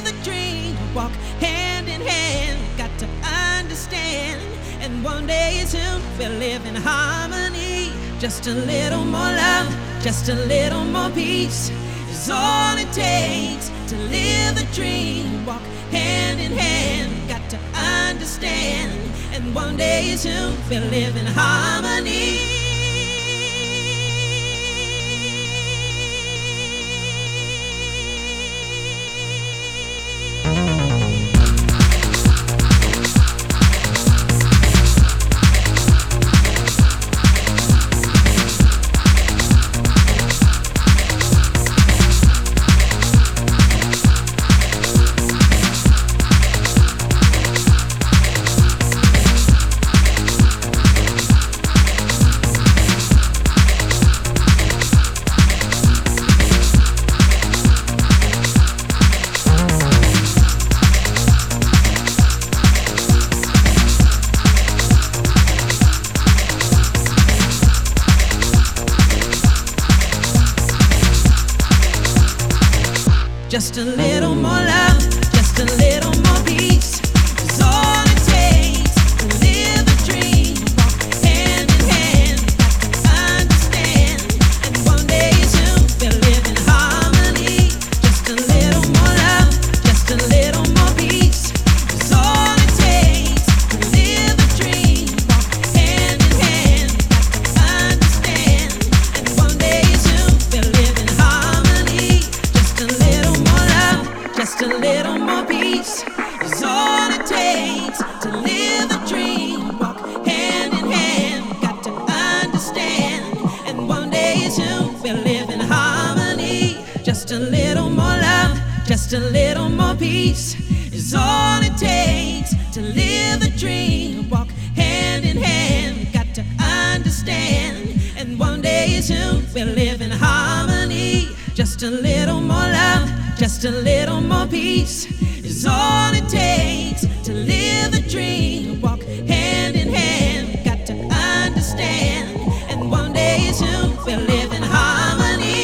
the dream, walk hand in hand. Got to understand, and one day soon we'll live in harmony. Just a little more love, just a little more peace is all it takes to live the dream, walk hand in hand. Got to understand, and one day soon we'll live in harmony. Just a little more love, just a little more peace is all it takes to live the dream, walk hand in hand. Got to understand, and one day soon we'll live in harmony. Just a little more love, just a little more peace is all it takes to live the dream, walk hand in hand. Got to understand, and one day soon we'll live in harmony. Just a little just a little more peace is all it takes to live the dream, walk hand in hand. Got to understand, and one day soon we'll live in harmony. Just a little more love, just a little more peace is all it takes to live the dream, walk hand in hand. Got to understand, and one day soon we'll live in harmony. Just a little more love, just a little more peace is all it takes to live the dream, walk hand in hand. Got to understand, and one day soon we'll live in harmony.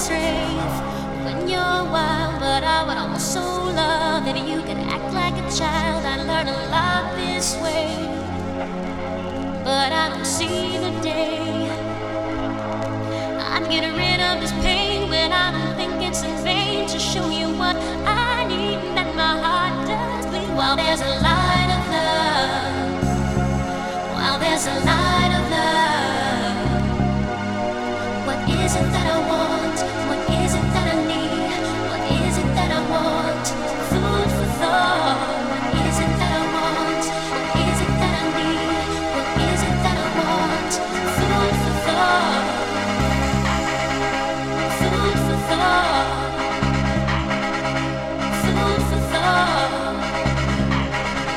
this rave when you're wild, but I would also love if you could act like a child. I learned a lot this way, but I don't see the day I'm getting rid of this pain when I don't think it's in vain to show you what I need, that my heart does bleed. While there's a light of love, while there's a light of love, what is it that I want? What is it that I need? What is it that I want? Food for thought. What is it that I want? What is it that I need? What is it that I want? Food for thought. Food for thought. Food for thought.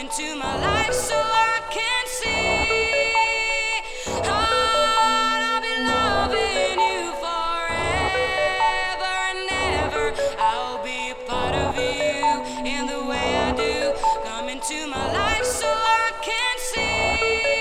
into my life so I can see. I'll be loving you forever and ever. I'll be a part of you in the way I do. Come into my life so I can see.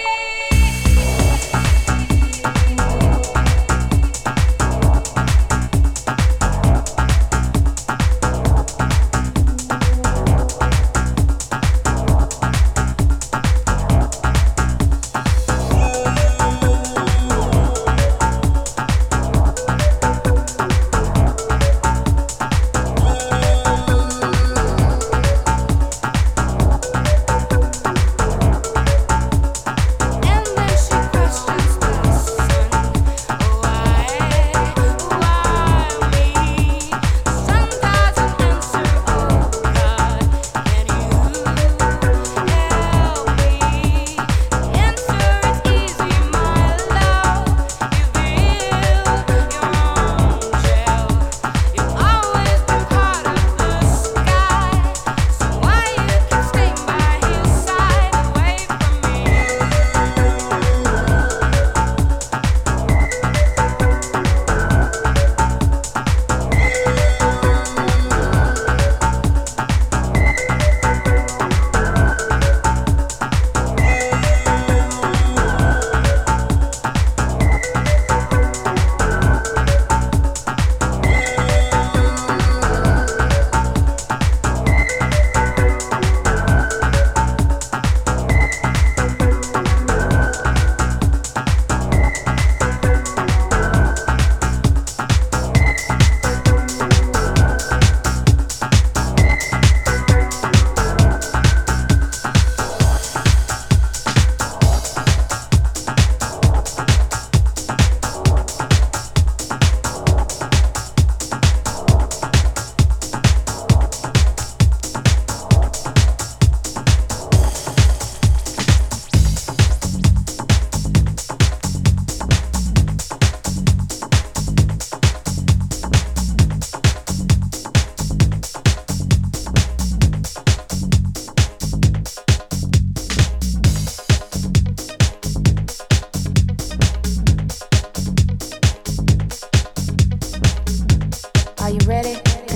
Are you ready?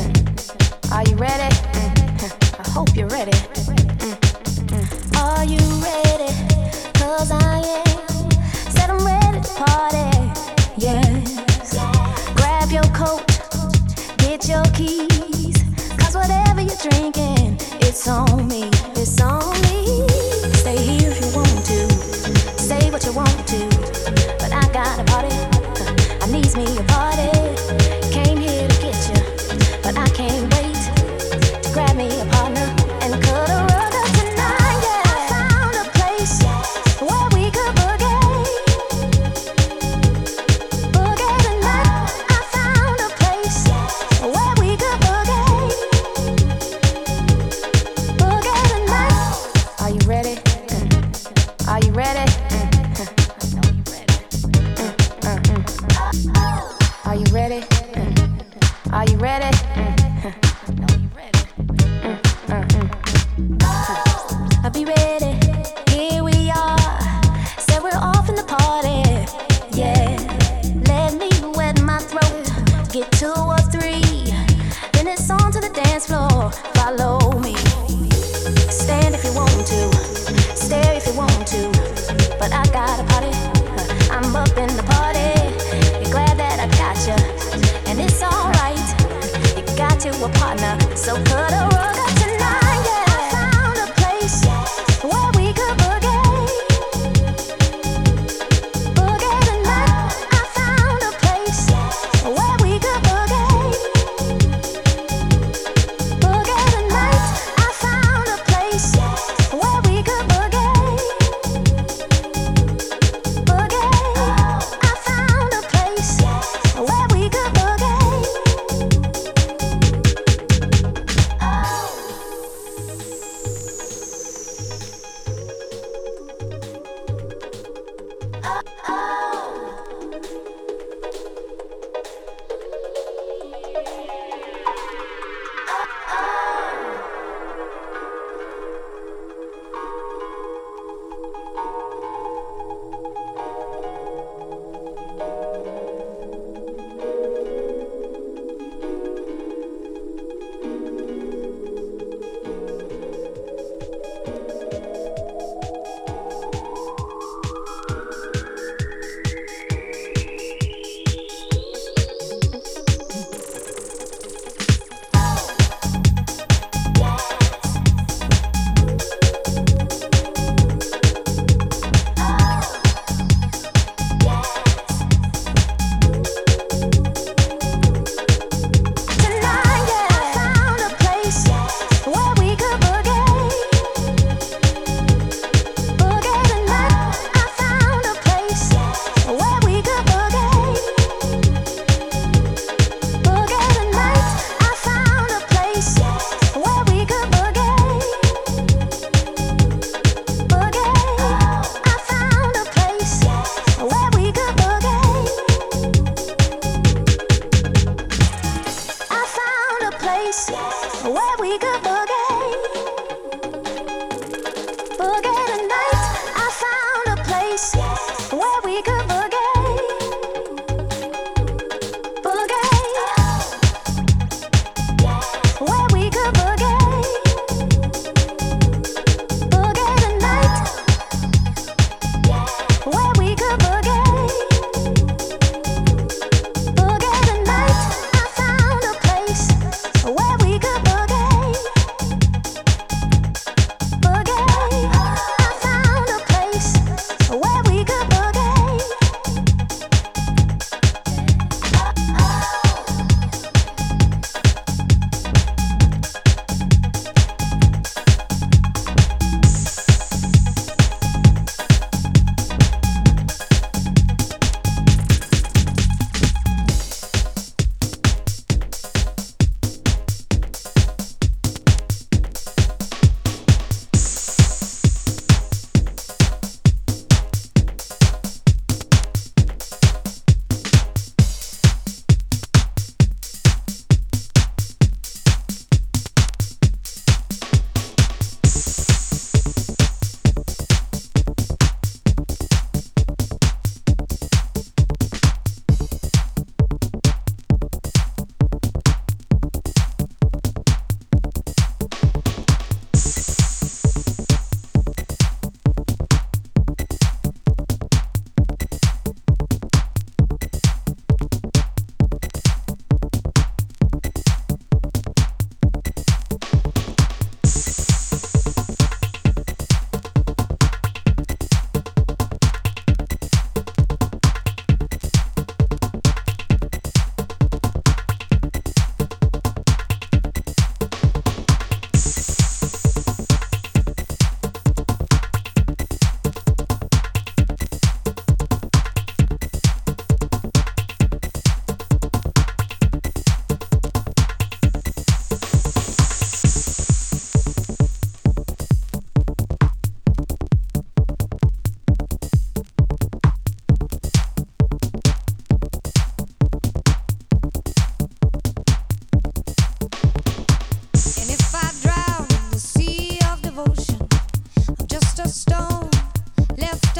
Are you ready? I hope you're ready. Are you ready? 'Cause I am. Said I'm ready to party. Yes. Grab your coat, get your keys. 'Cause whatever you're drinking, it's on me. It's on me. Stay here if you want to. Say what you want to. But I got a party. I needs me a party. Came here to get you, but I can't wait to grab me a partner and cut a rug up tonight. Yeah. I found a place where we could boogie, boogie tonight. I found a place where we could boogie, boogie tonight. Are you ready? Are you ready? Are you ready? Are you ready? I'll be ready. Here we are. Said we're off in the party. Yeah. Let me wet my throat. Get 2 or 3. Then it's on to the dance floor. Follow me. Stand if you want to. Stare if you want to. But I got a party. I'm up in the party. You're glad that I got you. And it's alright. You got you a partner. So cut a rug up tonight. Yeah. I found a place where we could boogie, boogie tonight. I found a place where we could boogie, boogie tonight. I found a place where we could boogie, boogie. I found a place where we could boogie.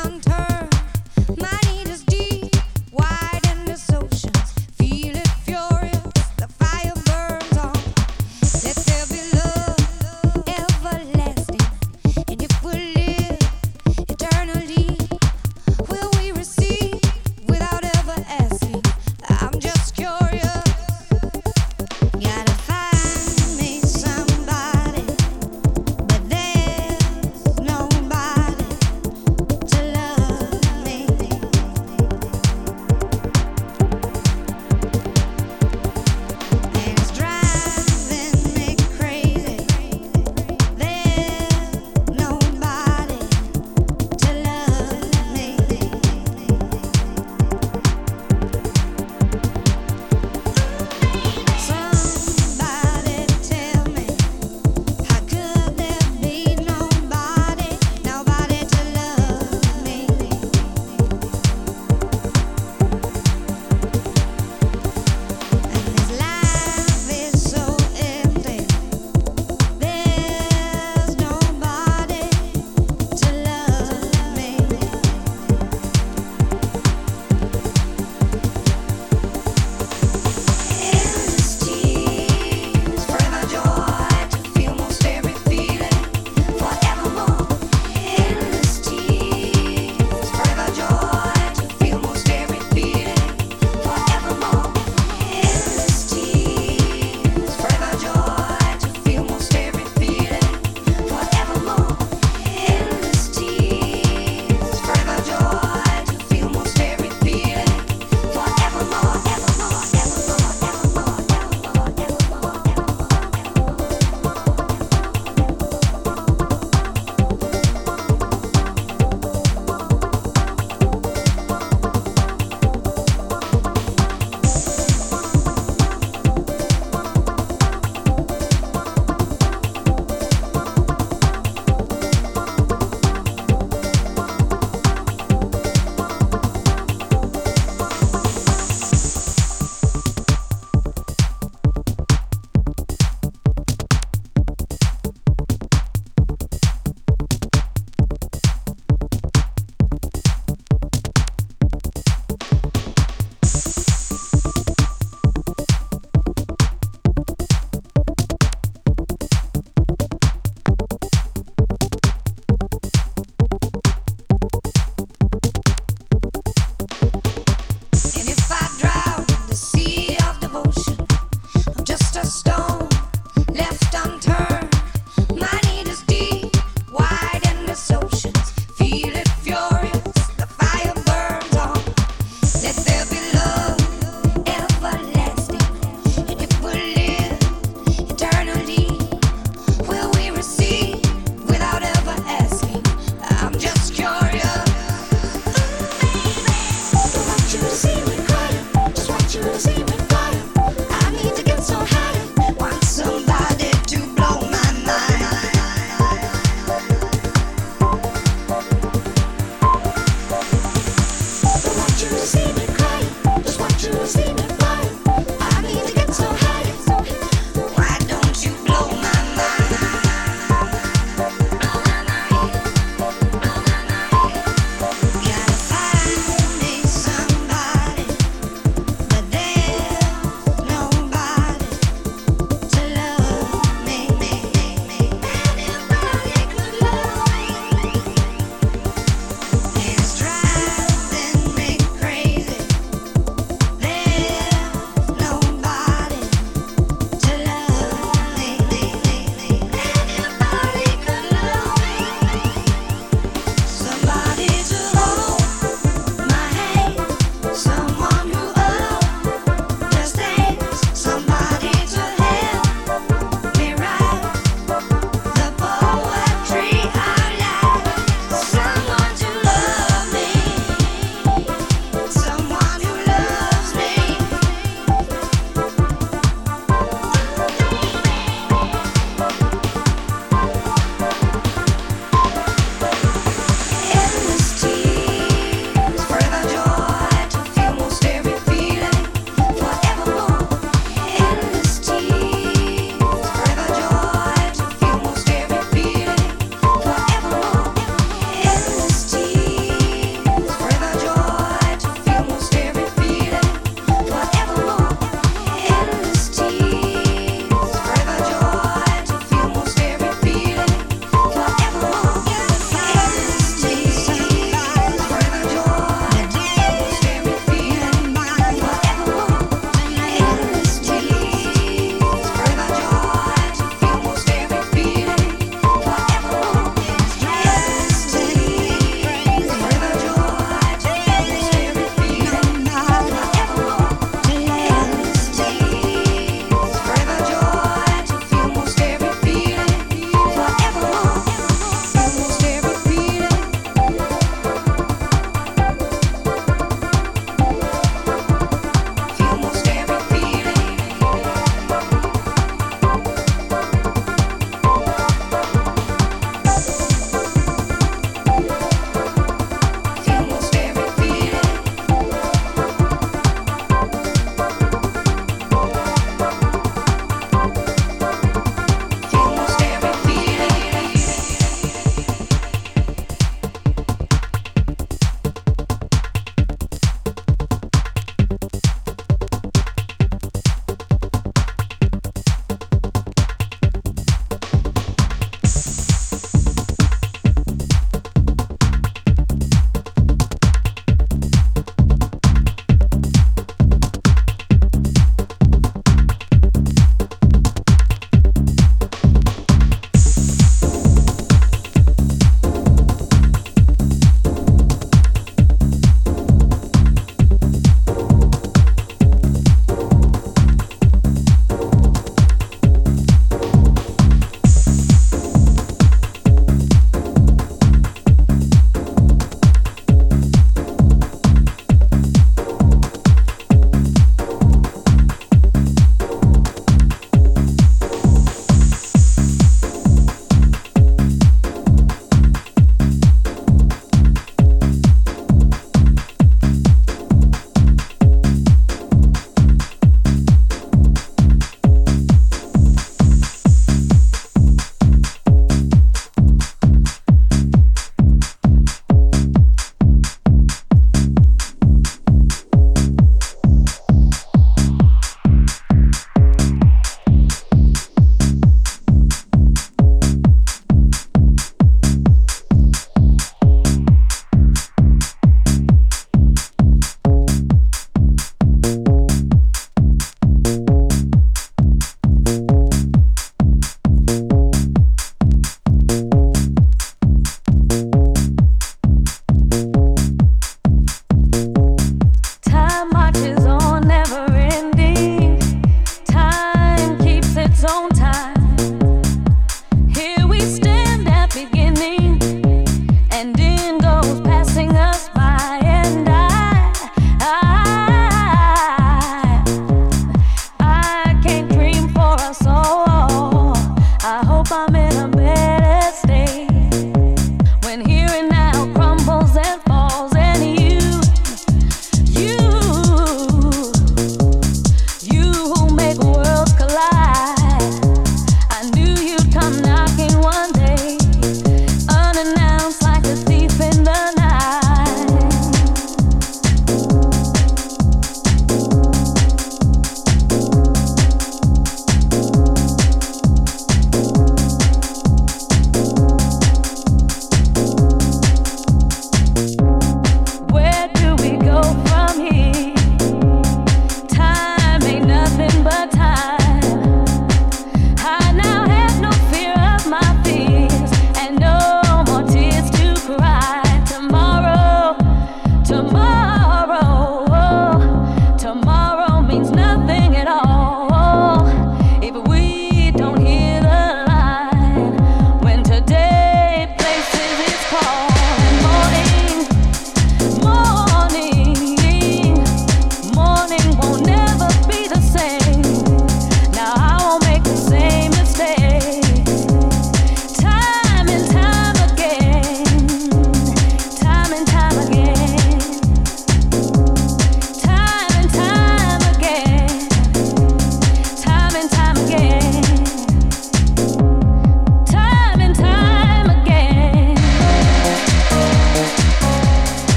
Nobody to love.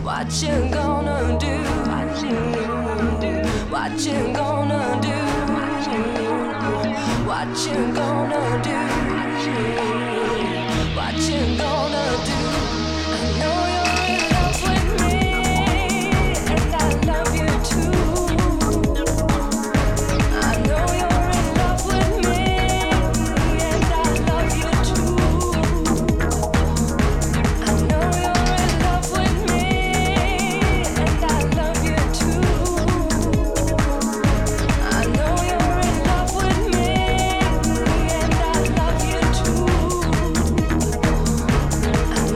What you gonna do? What you gonna do? What you gonna do? What you gonna do? I know you're in love with me, and I love you too. I know you're in love with me, and I love you too. I know you're in love with me, and I love you too. I know you're in love with me, and I love you too.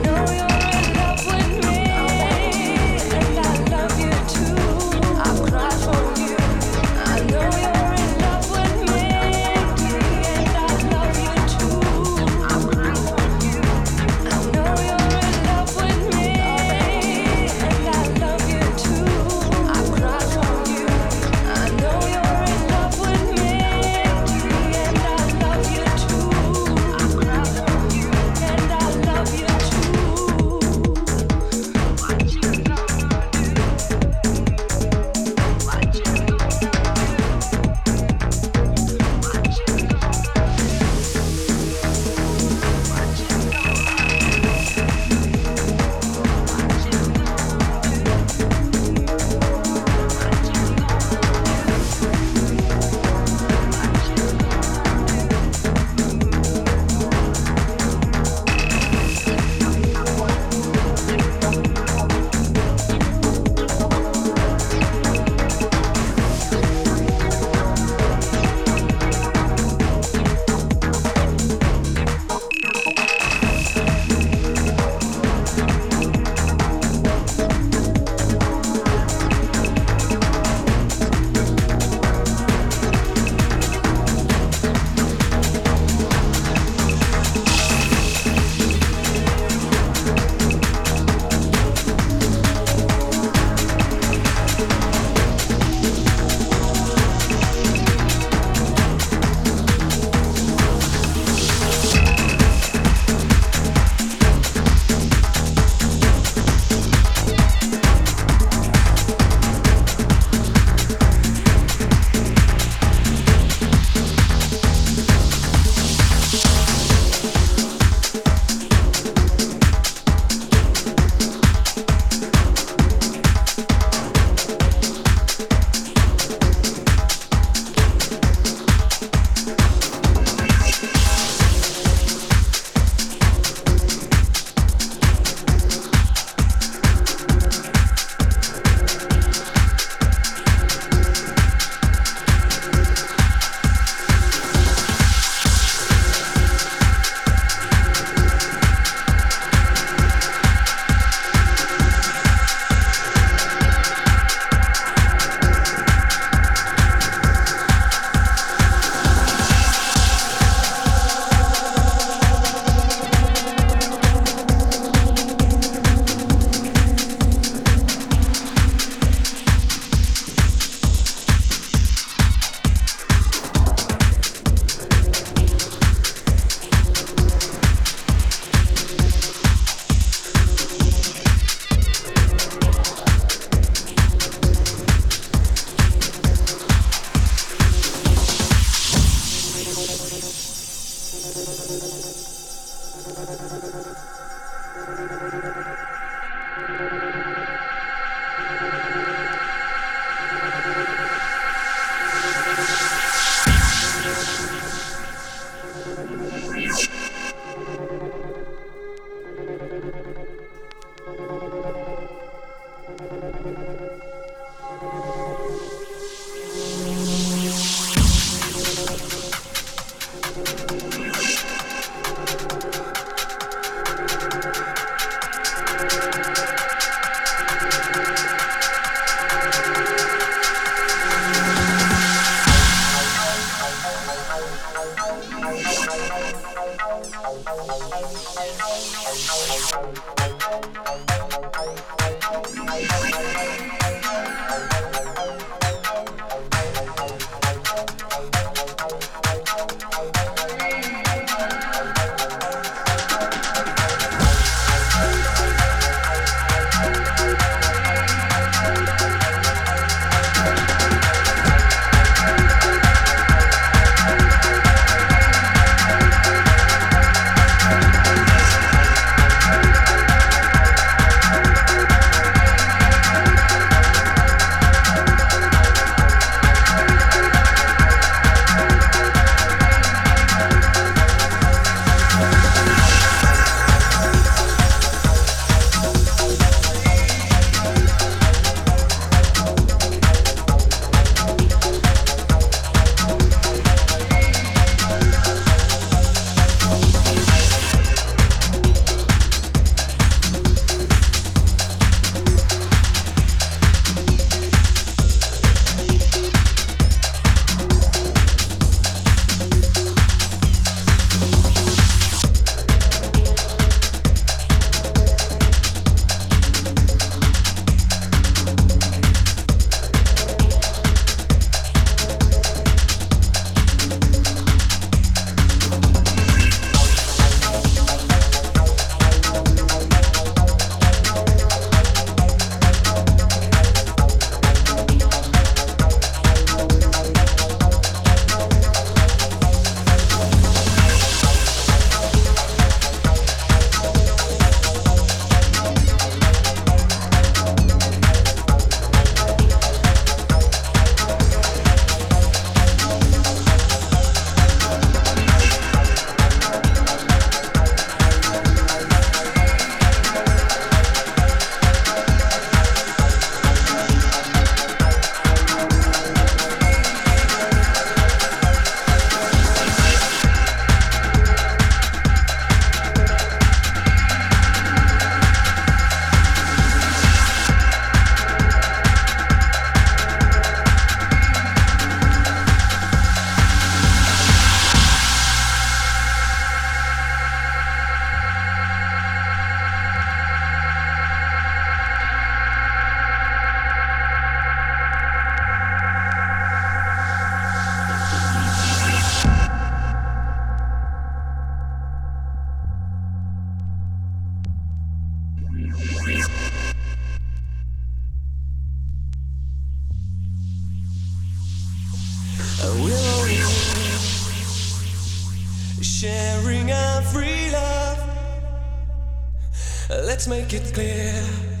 Let's make it clear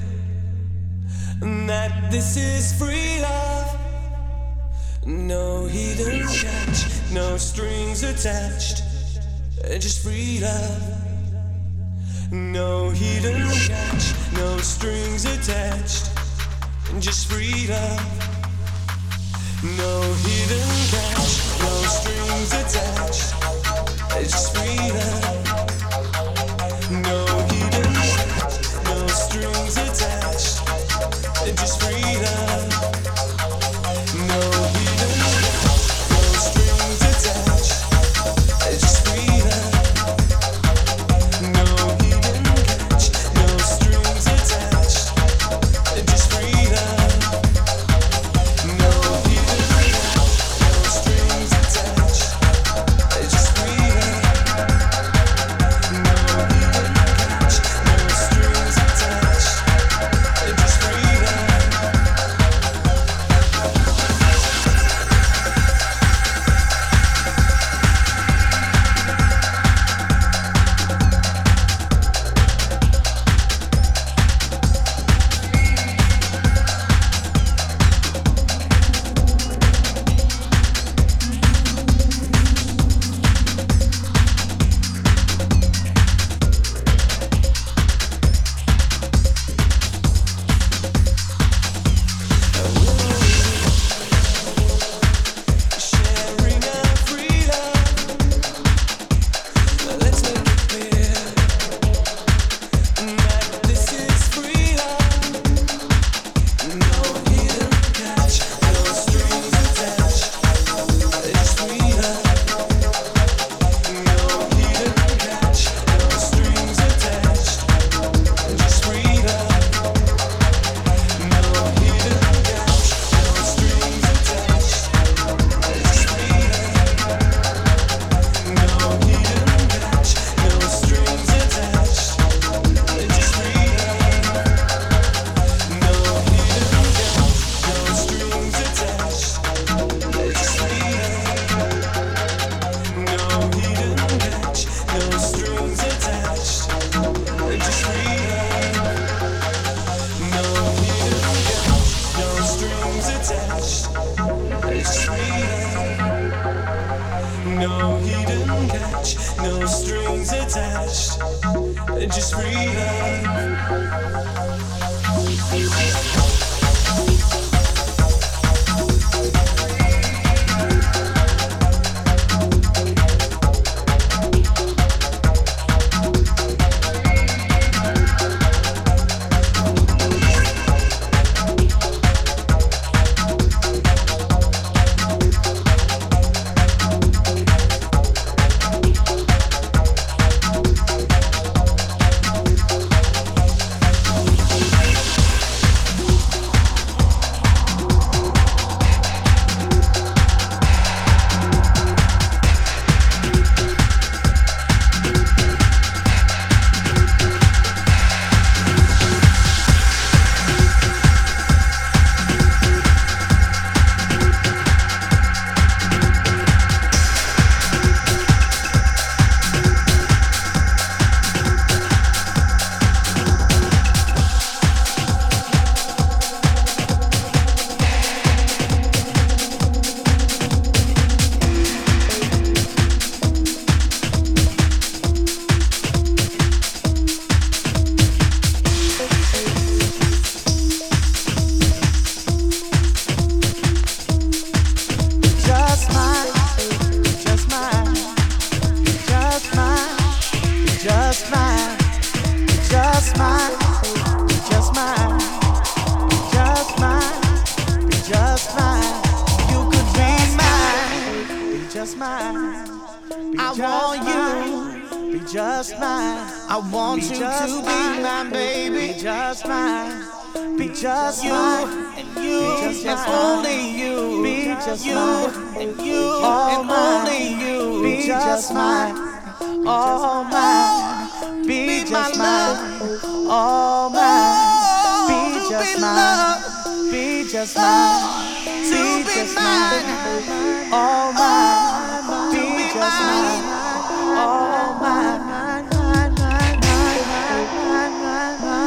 that this is free love. No hidden catch, no strings attached, just free love. No hidden catch, no strings attached, just free love. No hidden catch, no strings attached, just free love. No hidden catch, no strings attached, just free love. No hidden catch, no strings attached, just free love. No hidden catch, no strings attached, just free love. No hidden catch, no strings attached, just free love. No hidden catch, no strings attached, just free love. Sharing our freedom. Let's make it clear that this is freedom. No hidden catch, no strings attached, just freedom. No hidden catch, no strings attached, just freedom. No hidden catch, no strings attached, just freedom. No hidden catch, no strings attached, just freedom. No hidden catch, no strings attached, just freedom. No hidden catch, no strings attached, just freedom. No hidden catch, no strings attached, just freedom. No hidden catch, no strings attached, just freedom. I want you, be just mine. I want you to be my baby, be just mine. Be just you and you and only you. Be just you and you and only you. Be just mine, all mine. Be just mine, all mine. Be just mine, be just mine. Be just mine, all mine. Be just mine, all mine.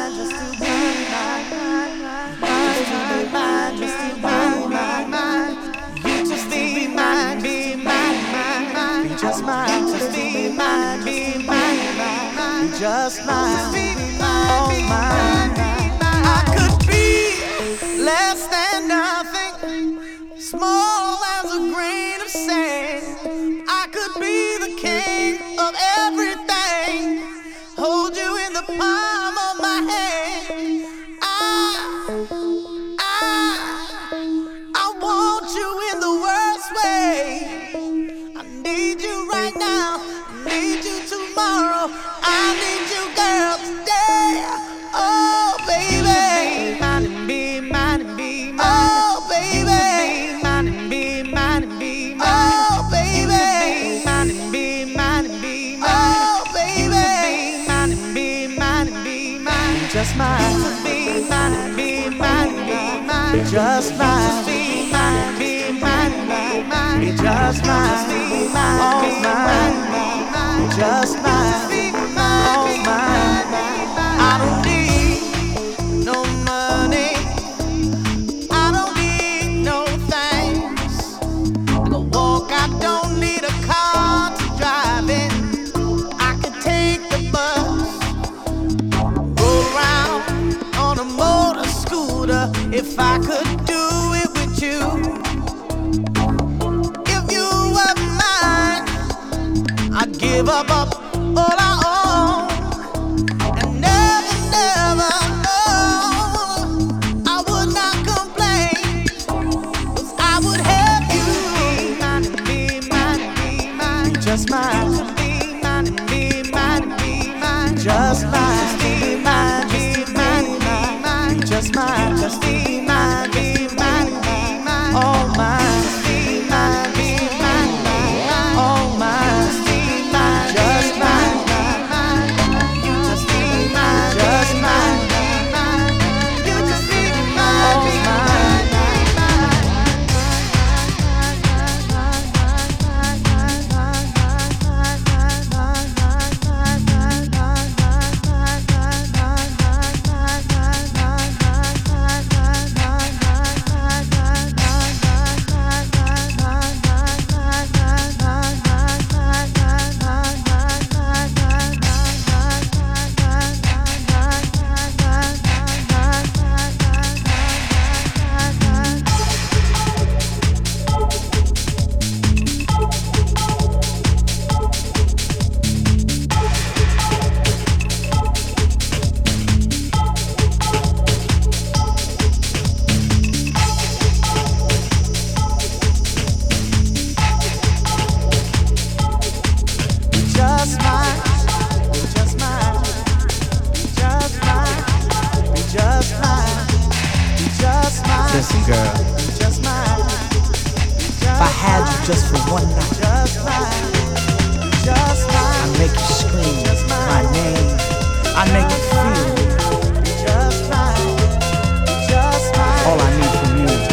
mine, just to be mine, just to be mine, just to be mine. You just be mine, be mine, be just mine, just be mine, be mine, be just mine, all mine. I could be less than nothing, small as a grain of sand. I could be the king of everything, hold you in the palm of my hand. I want you in the worst way. I need you right now, I need you tomorrow, I need you, girl, today. Oh, baby, mine and be mine and be mine. Oh, baby, mine and be mine and be mine. Oh, baby, mine and be mine and be mine. Oh, baby, mine and be mine and be mine. Just mine, be mine and be mine and be mine. Just mine, be mine and be mine and be mine. Just mine, be mine, all mine, just mine, all mine. I don't need no money, I don't need no things. I can walk, I don't need a car to drive in. I can take the bus, go around on a motor scooter if I could do it with you. If you were mine, I'd give up all I own and never, never, no, I would not complain, 'cause I would have you be mine and be mine and be mine. Just mine, be mine and be mine and be mine. Just mine, be mine, be mine and be mine. Just mine, just be mine, be mine and be mine. All mine, be mine, be mine, all mine. Just mine, you just be mine, just mine, you just be mine, all mine. Listen, girl, if I had you just for one night, I'd make you scream my name, I'd make you feel all I need from you is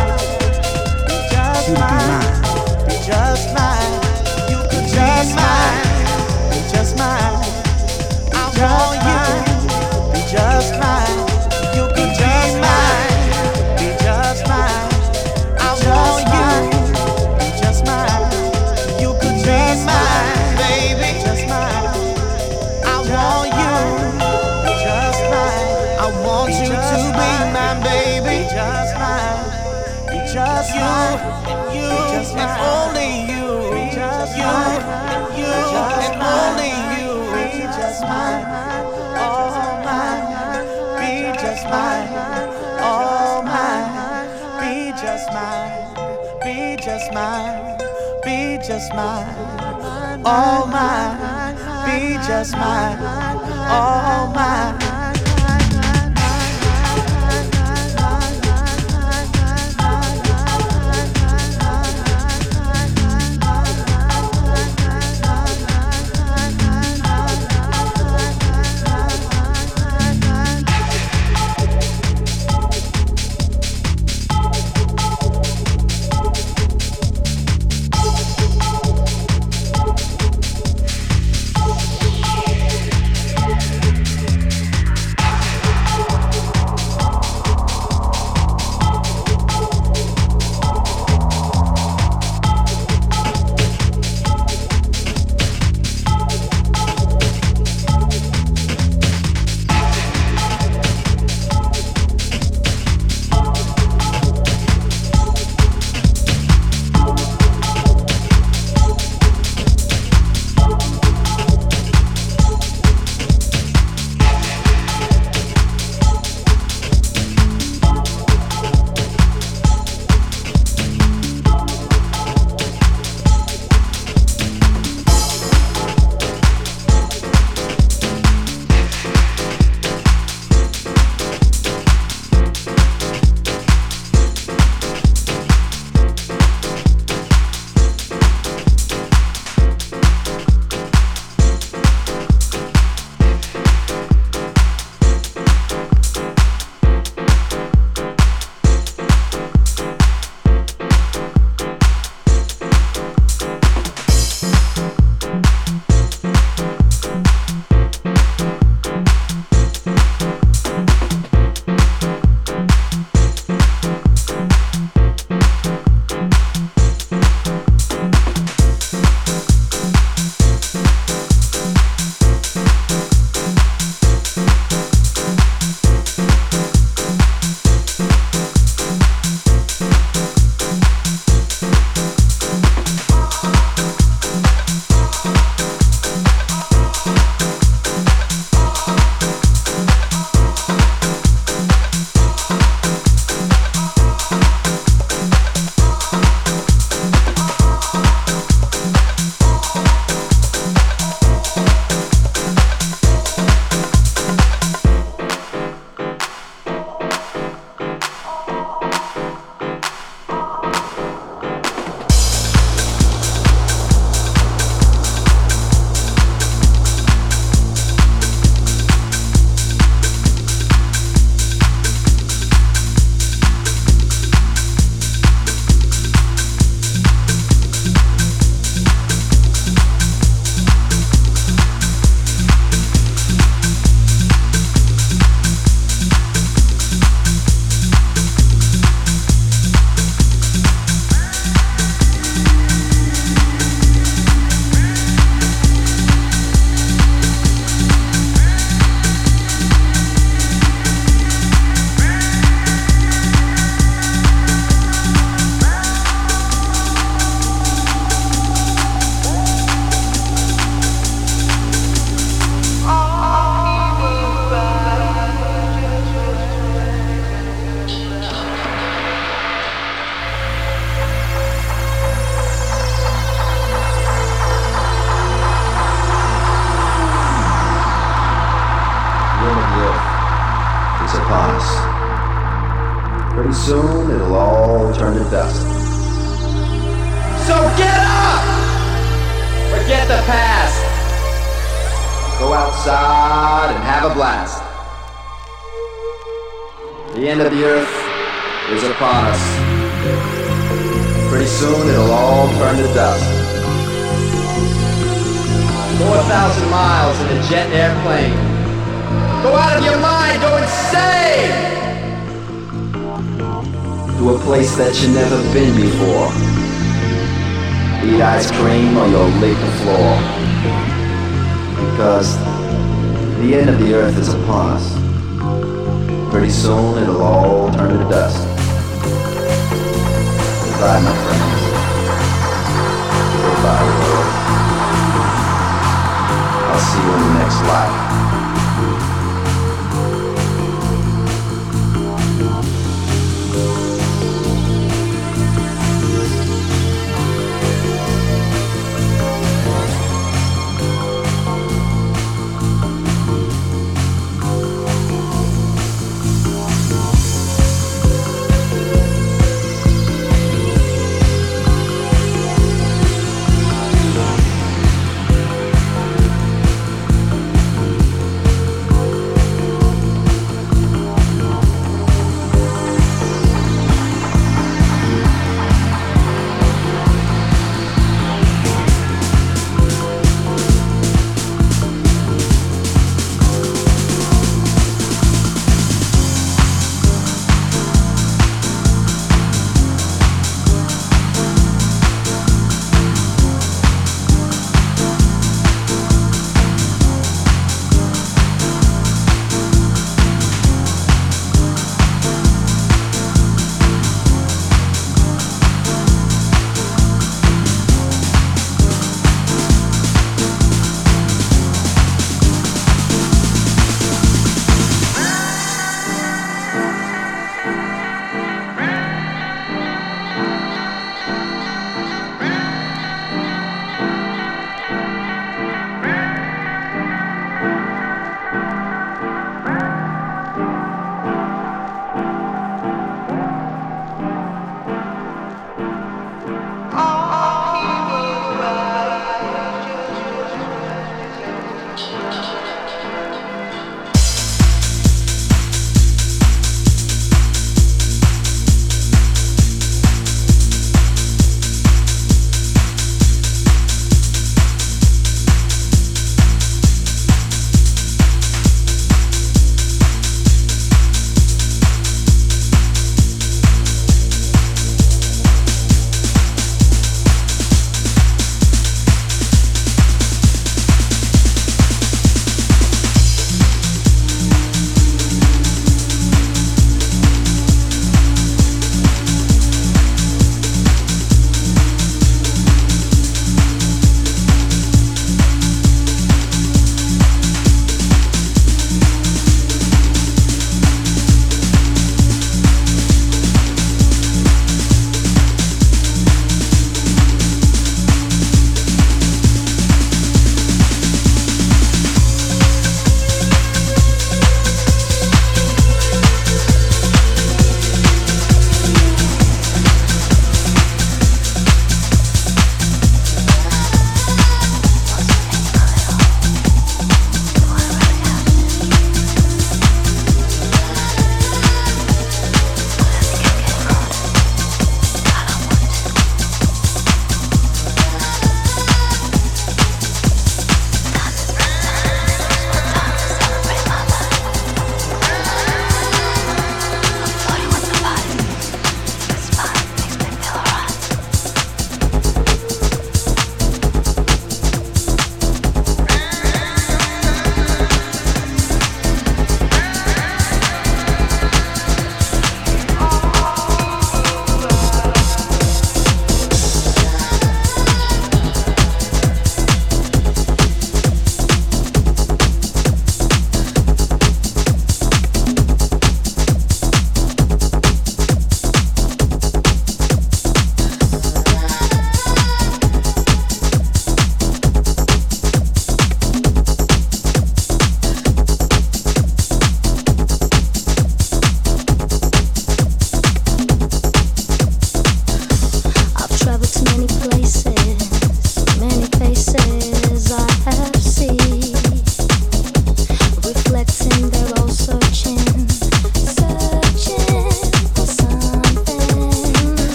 you to be mine. Just mine, you could just mine, be just mine. I want you, be just mine. You could just mine, be just mine. I want you, be just mine. You could just mine, baby, just mine. I want you, be just mine. I want you to be mine, baby, just mine. Be just mine, you and only you. Just you and only you. Be just mine, all mine. Be just mine, all mine. Be just mine, be just mine, be just mine, all mine. Be just mine, all mine. is upon us. Pretty soon it'll all turn to dust. So get up! Forget the past. Go outside and have a blast. The end of the earth is upon us. Pretty soon it'll all turn to dust. 4,000 miles in a jet airplane. Go out of your mind, go insane! To a place that you've never been before. Eat ice cream or you'll lick the floor. Because the end of the earth is upon us. Pretty soon it'll all turn to dust. Goodbye, my friends. Goodbye, world. I'll see you in the next life.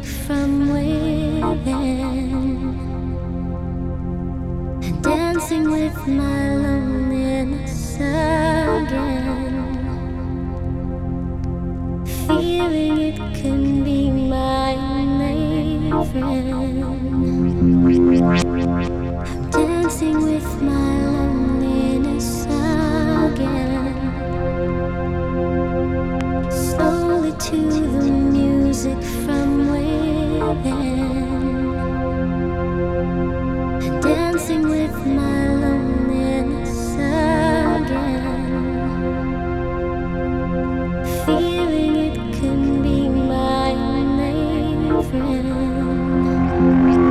from within and dancing with my loneliness again, feeling it can be my main friend. I'm dancing with my loneliness again, slowly to the music from within, and dancing with my loneliness again, feeling it can be my main friend.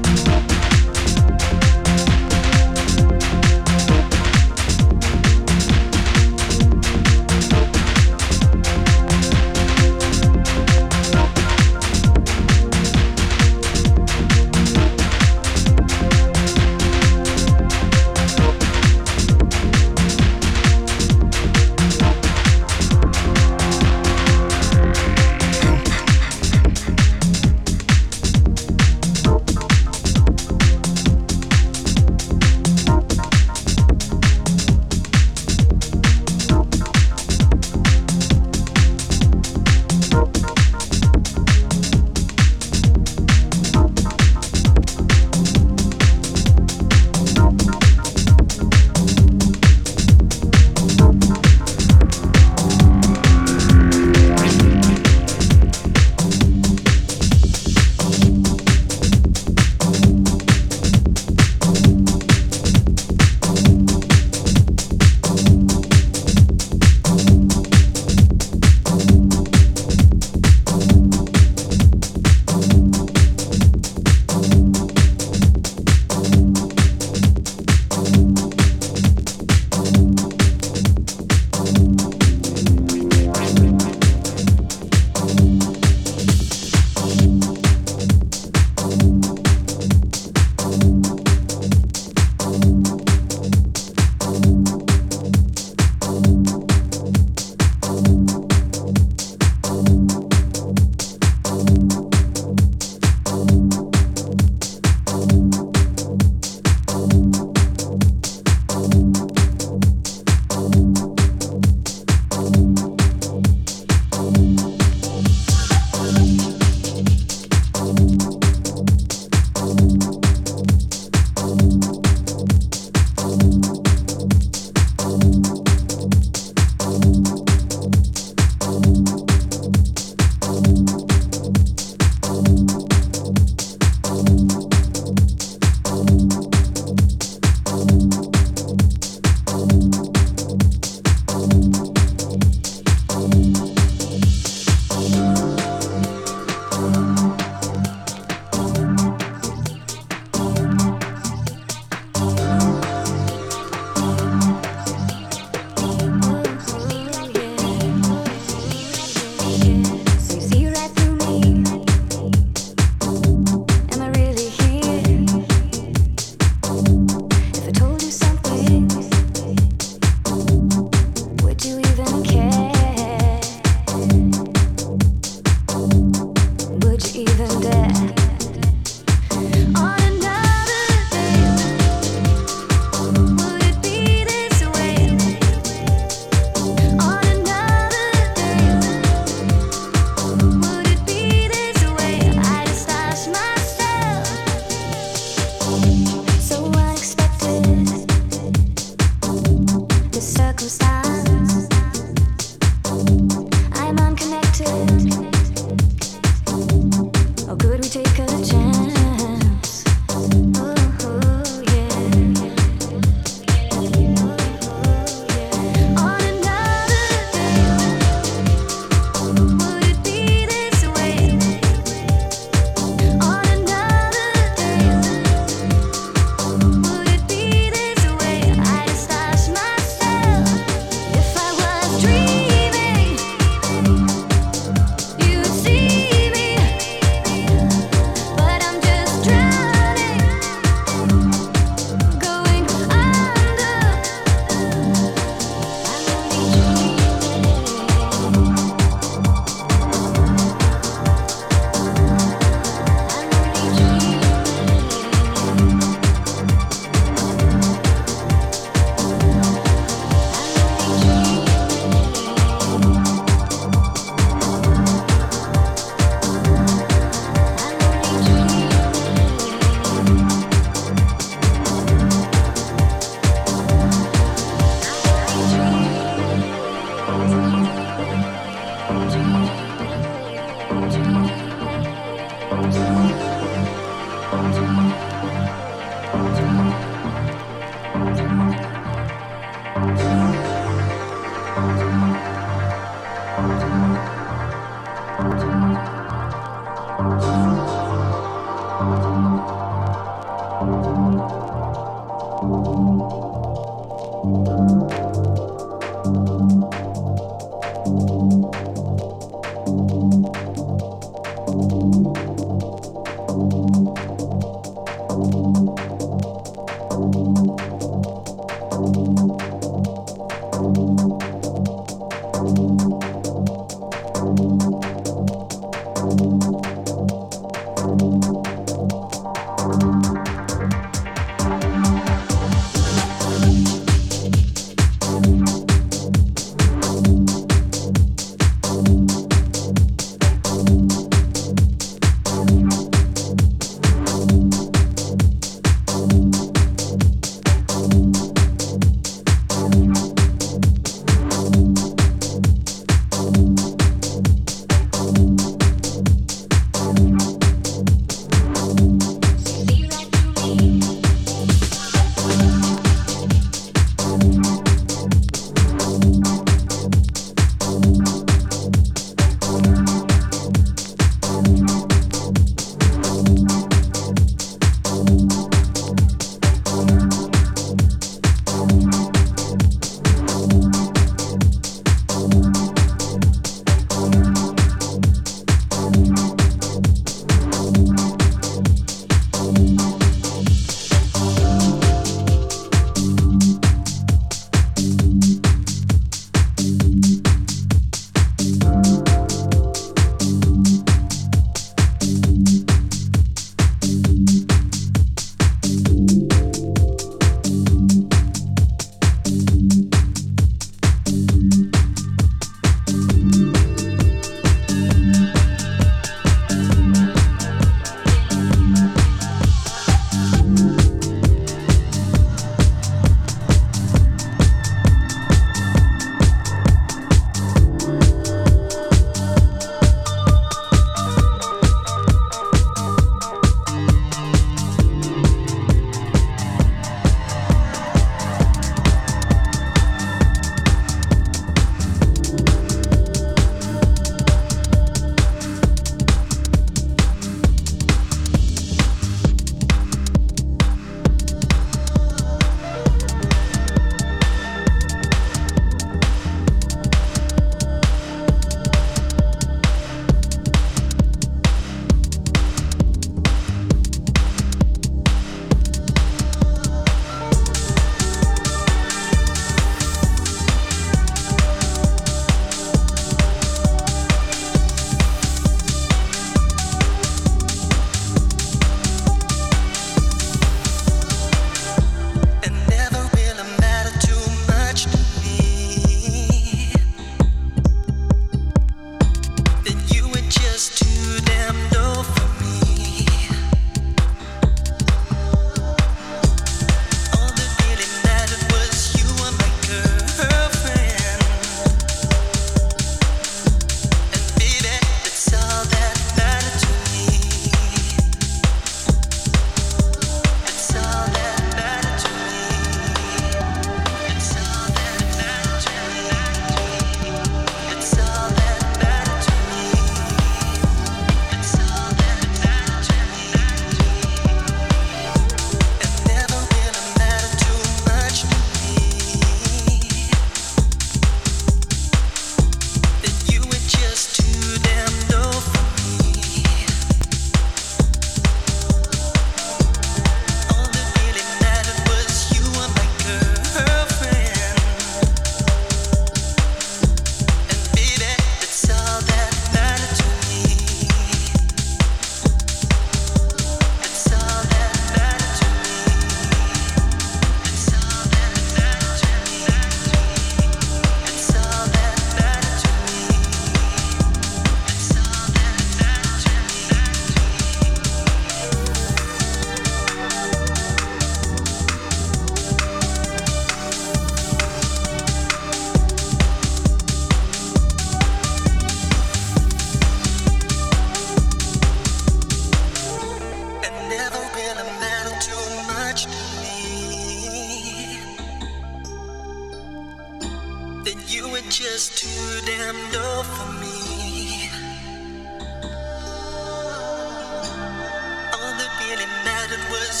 just too damn dull for me. All that really mattered was you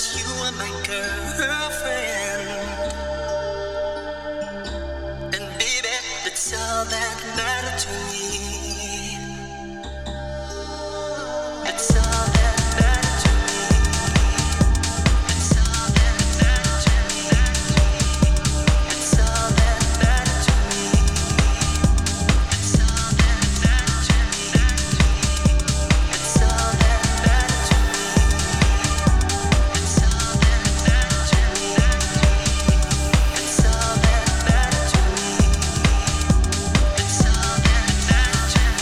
my girlfriend. And baby, that's all that matters to me. It's all that matters to me. It's all that matters to me. It's all that matters to me. It's all that matters to me. It's all that matters to me. It's all that matters to me. It's all that matters to me. It's all that matters to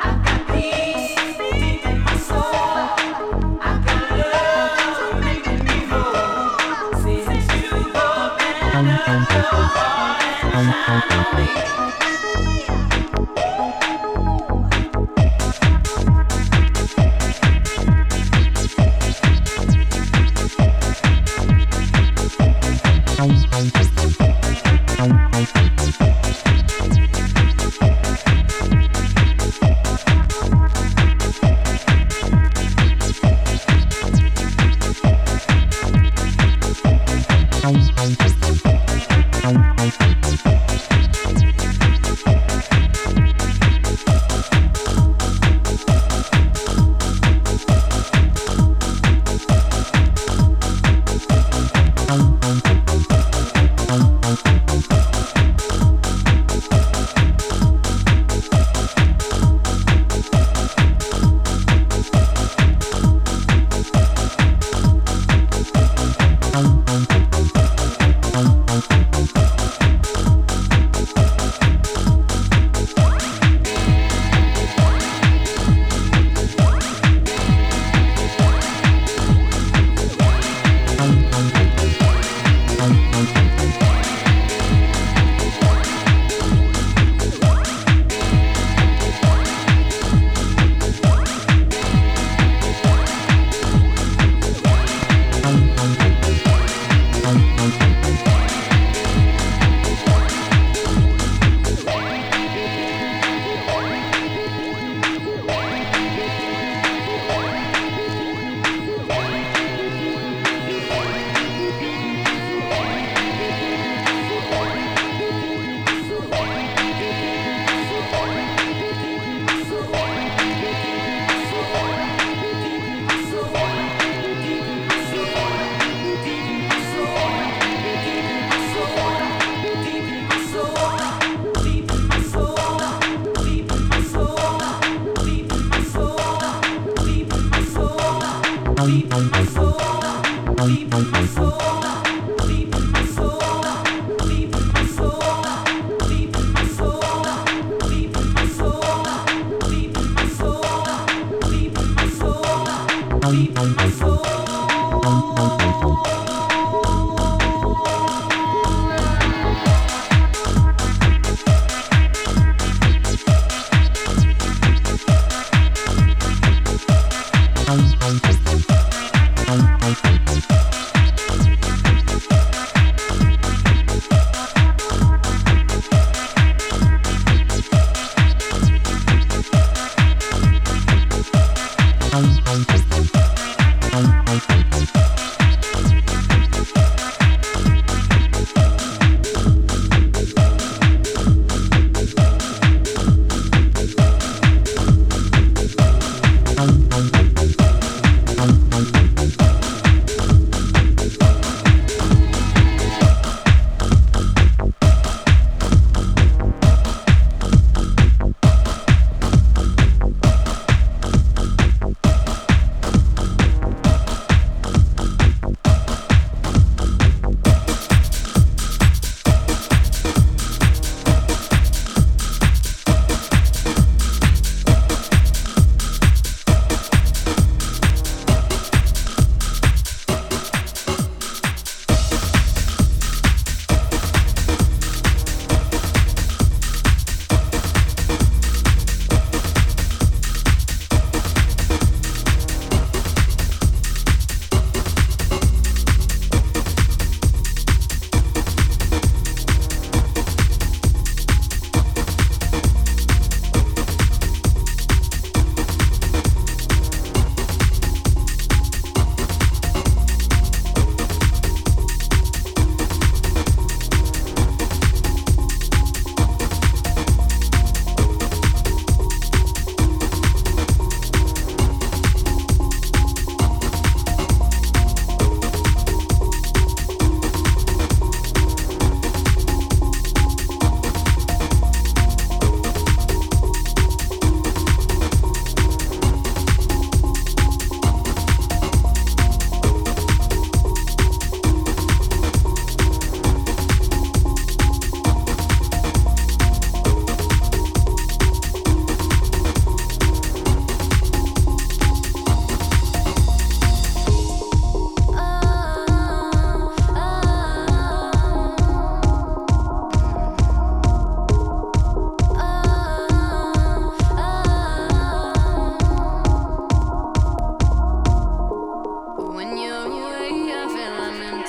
Peace deep in my soul. I got love making me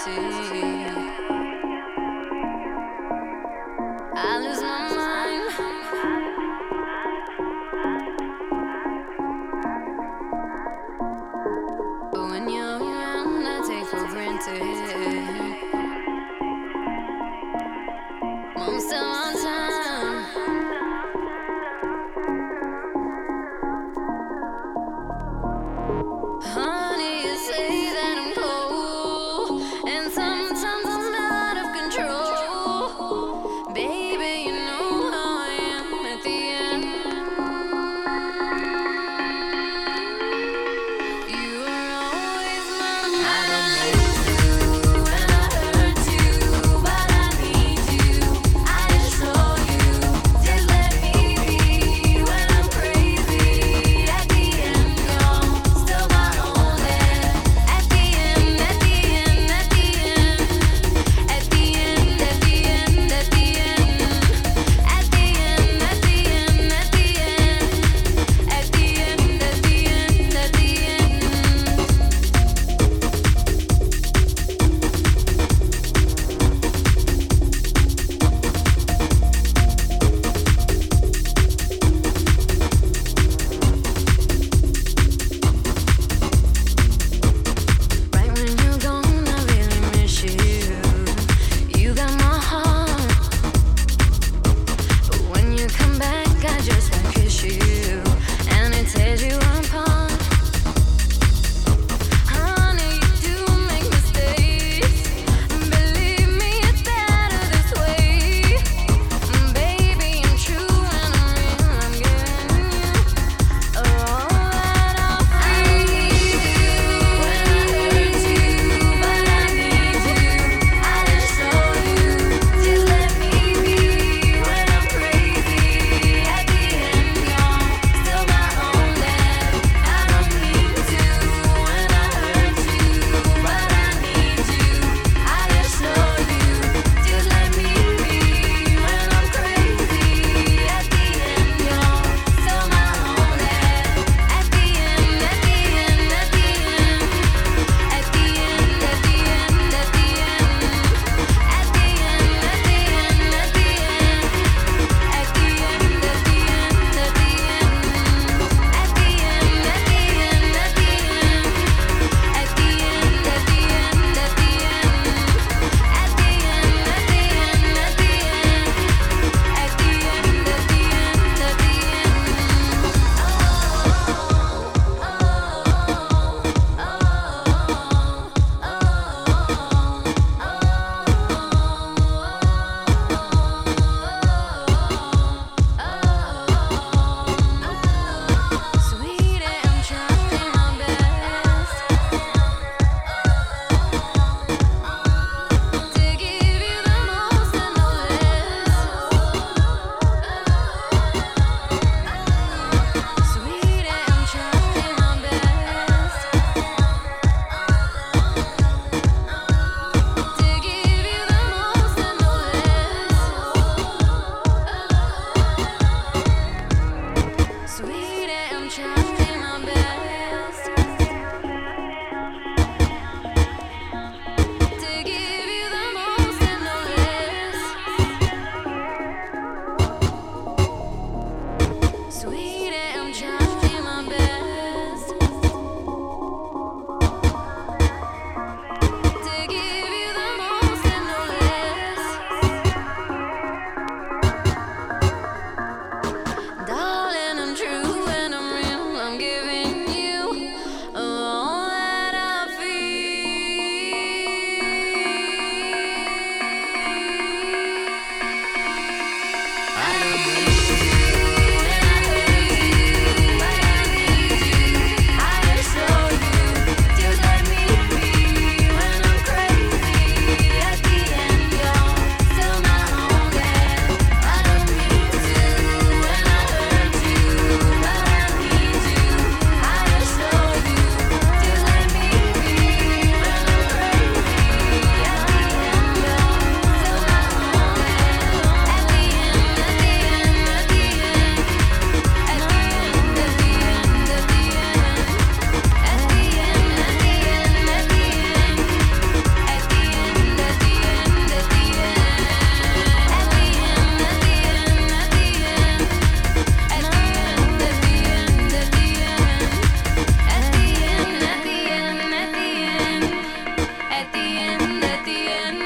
I lose my mind. But when you're around, I take for granted most of my time. Honey, you say that I'm cold, and sometimes I'm out of control. Baby, you know how I am at the end. You are always mine. I don't hate you, and I hurt you, but I need you. I just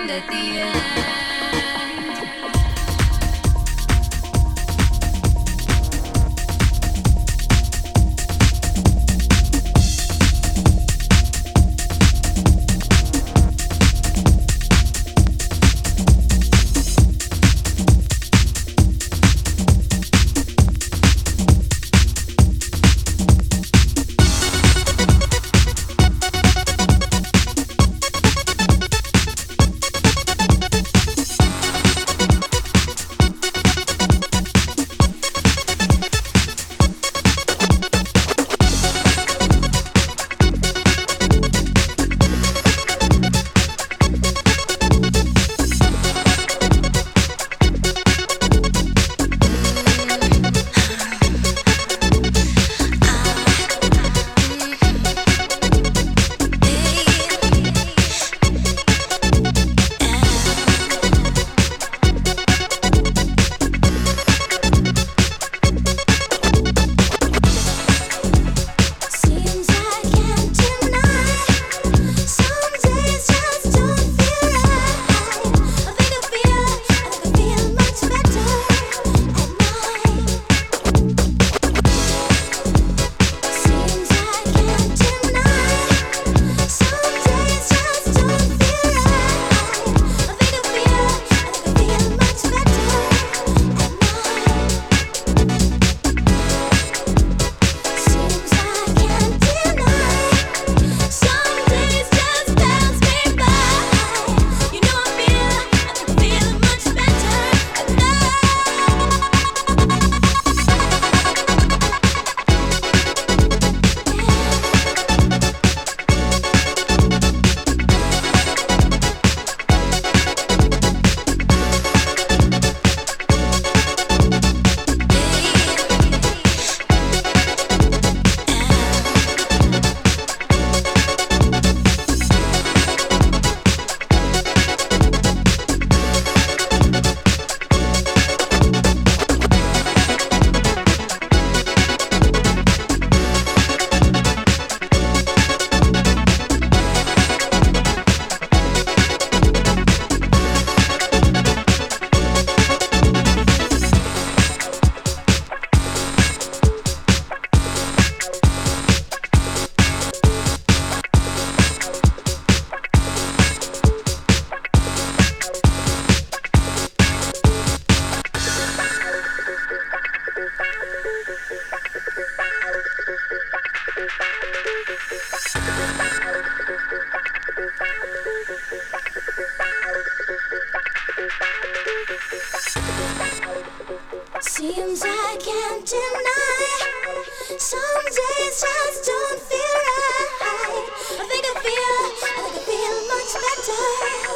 end at the end. Seems I can't deny. Some days just don't feel right. I think I feel much better.